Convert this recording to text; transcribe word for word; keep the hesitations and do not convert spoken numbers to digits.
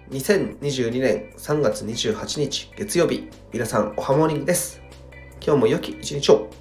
にせんにじゅうにねんさんがつにじゅうはちにち月曜日、皆さんおはモーニングです。今日も良き一日を。